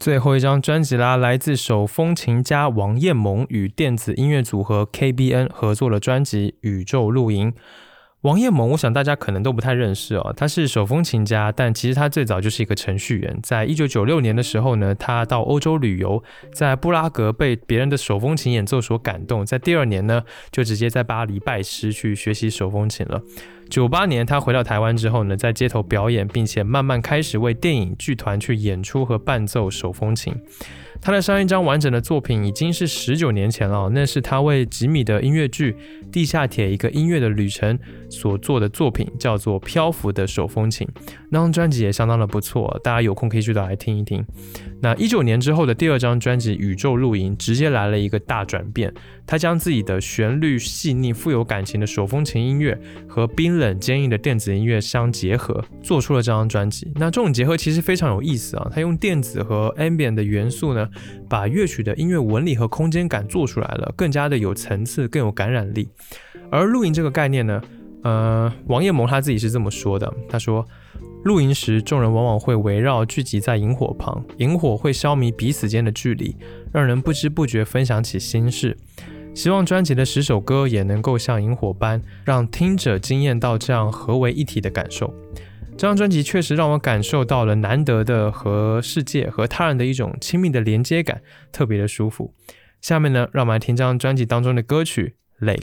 最后一张专辑啦，来自手风琴家王彦萌与电子音乐组合 K B N 合作的专辑《宇宙露营》。王彦萌我想大家可能都不太认识哦，他是手风琴家，但其实他最早就是一个程序员。在一九九六年的时候呢，他到欧洲旅游，在布拉格被别人的手风琴演奏所感动，在第二年呢就直接在巴黎拜师去学习手风琴了。九八年他回到台湾之后呢，在街头表演，并且慢慢开始为电影剧团去演出和伴奏手风琴。他的上一张完整的作品已经是十九年前了、哦、那是他为吉米的音乐剧《地下铁一个音乐的旅程》所做的作品，叫做《漂浮的手风琴》。那张专辑也相当的不错，大家有空可以去找来听一听。那一九年之后的第二张专辑《宇宙露营》直接来了一个大转变，他将自己的旋律细腻、富有感情的手风琴音乐和冰冷坚硬的电子音乐相结合，做出了这张专辑。那这种结合其实非常有意思啊，他用电子和 ambient 的元素呢，把乐曲的音乐纹理和空间感做出来了，更加的有层次，更有感染力。而露营这个概念呢，呃，王彦萌他自己是这么说的，他说，露营时众人往往会围绕聚集在萤火旁，萤火会消弭彼此间的距离，让人不知不觉分享起心事。希望专辑的十首歌也能够像萤火般，让听者惊艳到这样合为一体的感受。这张专辑确实让我感受到了难得的和世界和他人的一种亲密的连接感，特别的舒服。下面呢，让我们来听这张专辑当中的歌曲《Lake》。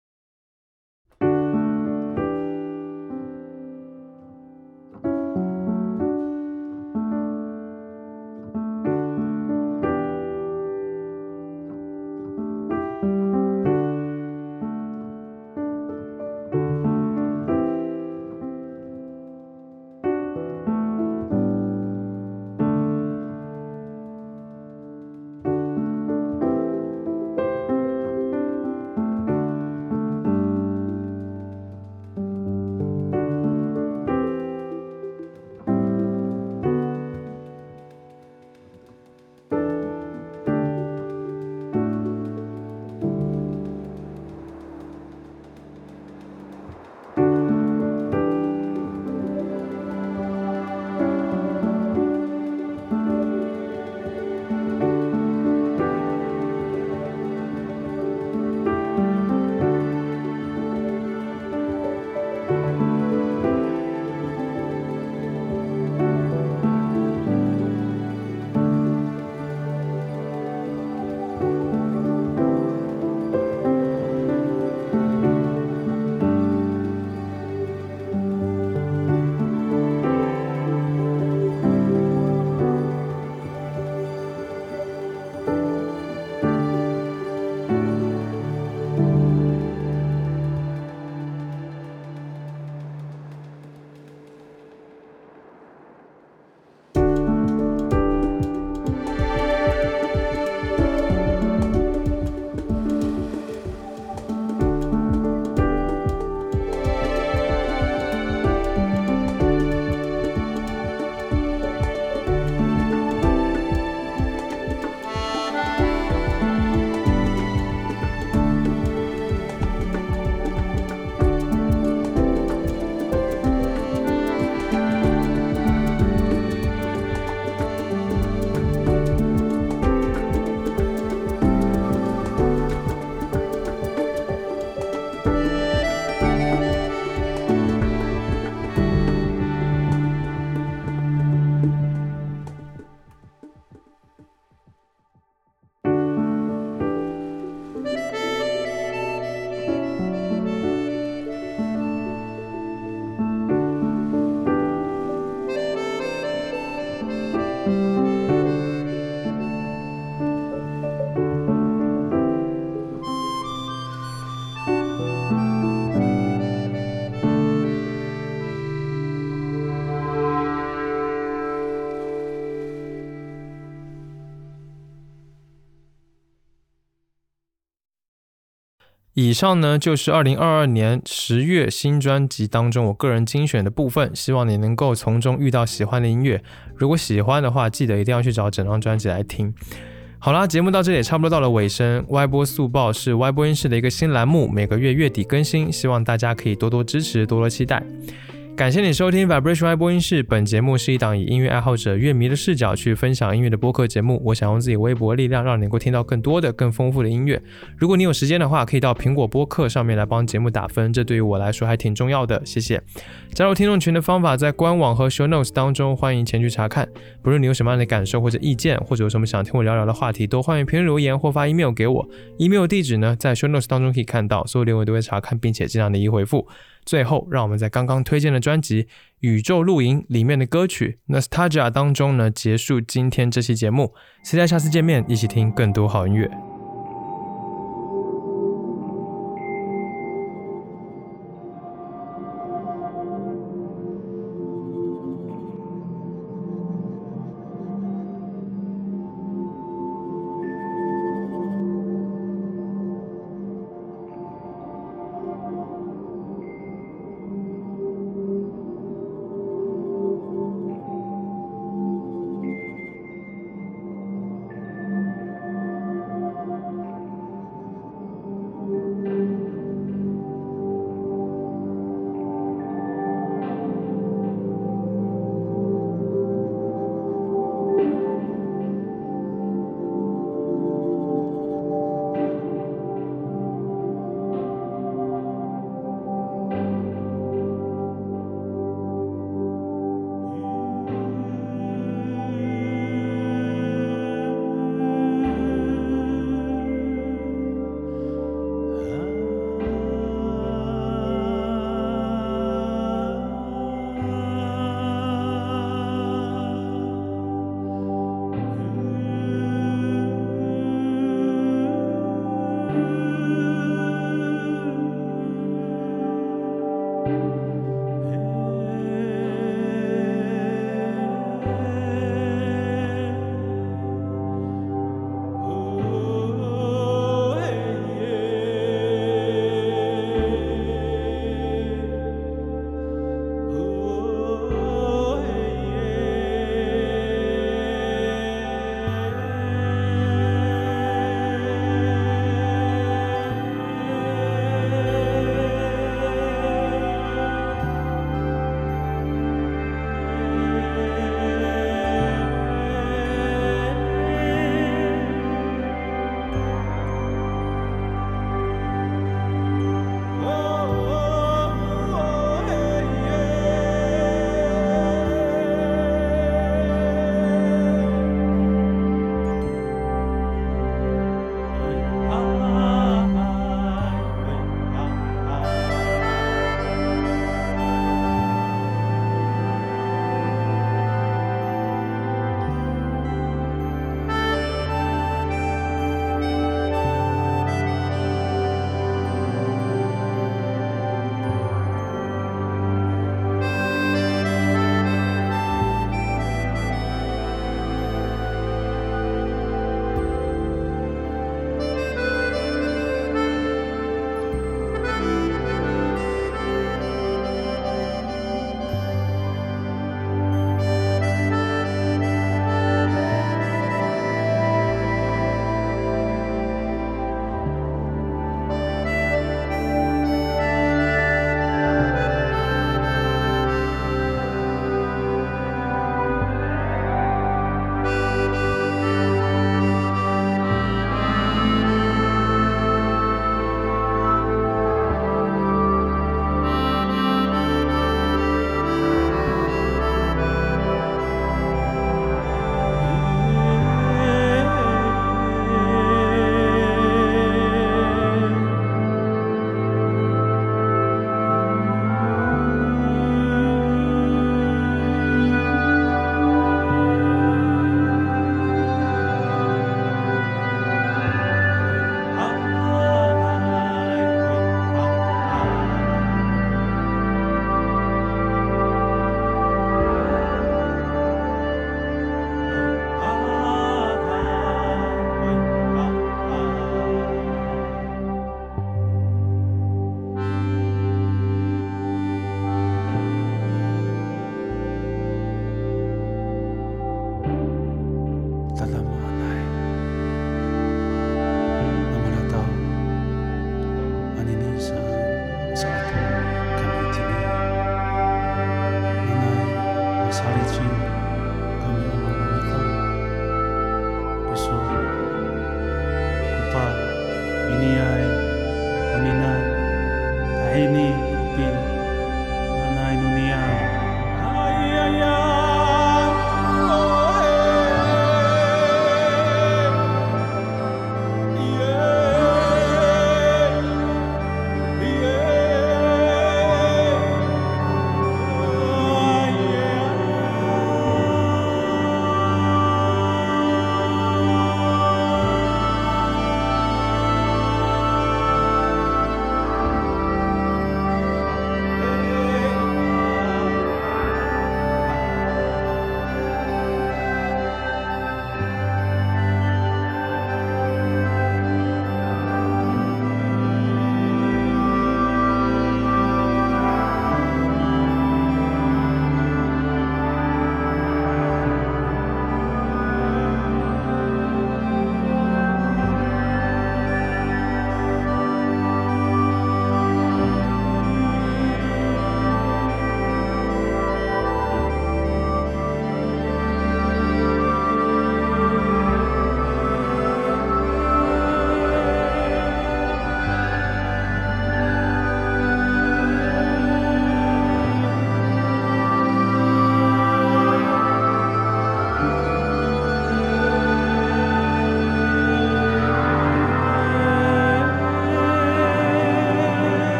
以上呢就是二零二二年十月新专辑当中我个人精选的部分，希望你能够从中遇到喜欢的音乐。如果喜欢的话，记得一定要去找整张专辑来听。好啦，节目到这里也差不多到了尾声。歪播速报是歪播音室的一个新栏目，每个月月底更新，希望大家可以多多支持，多多期待。 感谢你收听 Vibration Y 播音室，本节目是一档以音乐爱好者、乐迷的视角去分享音乐的播客节目。我想用自己微薄的力量，让你能够听到更多的、更丰富的音乐。如果你有时间的话，可以到苹果播客上面来帮节目打分，这对于我来说还挺重要的，谢谢。加入听众群的方法在官网和 show notes 当中，欢迎前去查看。不论你有什么样的感受或者意见，或者有什么想听我聊聊的话题，都欢迎评论留言或发 email 给我。email 地址呢，在 show notes 当中可以看到，所有留言都会查看并且尽量的一一回复。最后，让我们在刚刚推荐的专辑《宇宙露营》里面的歌曲 Nostalgia 当中呢，结束今天这期节目。期待下次见面，一起听更多好音乐。